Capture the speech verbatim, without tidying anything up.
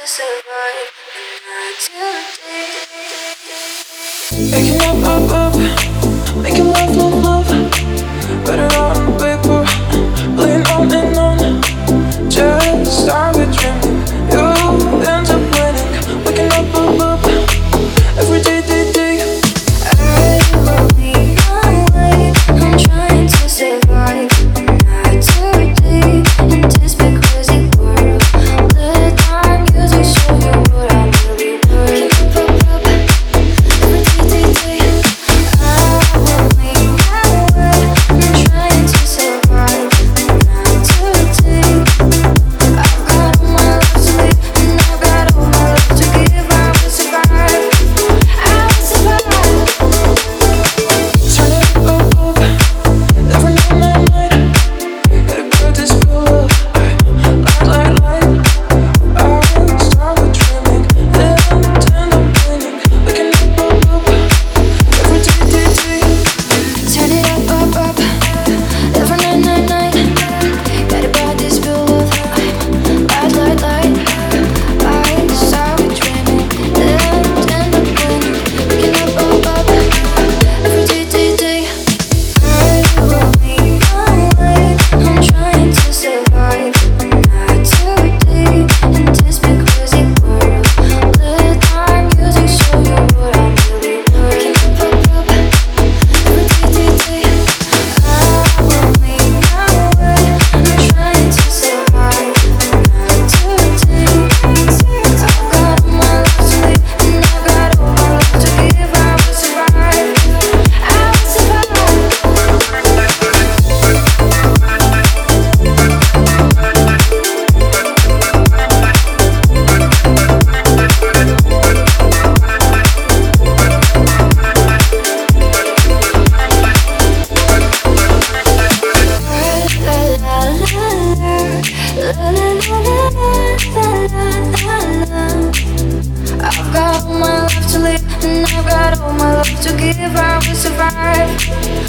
survive the night. Waking up, up, up, making love, love, love. Better on paper, playing on and on. Just started dreaming, you end up winning. Waking up, up, up, every day, day, day. I will be my way. I'm trying to survive the night today in this big crazy world. The time music show you what I'm really worth. Up, up, up, every day, day, day. I will make my way. I'm trying to survive the night today. I've got all my life to live and I've got all my love to give. I will survive. I will survive. Turn it up, up, every night, night, night. Gotta build this love, light, light, light. I started dreaming, then end up winning. Waking up, up, up, every day, day, day. Turn it up, up, up, every night, night, night. Gotta buy this bill of light, light, light, light. I started dreaming, then end up winning. Waking up, up, up, every day, day, day. I will make my way. I'm trying to survive the night today in this big crazy world. The time music show you what I'm really worth. Up, up, up, every day, day, day. I will make my way. I'm trying to survive the night today. I've got all my life to live and I've got all my love to give. I will survive. I will survive. I've got all my life to live and I've got all my love to give. I will survive.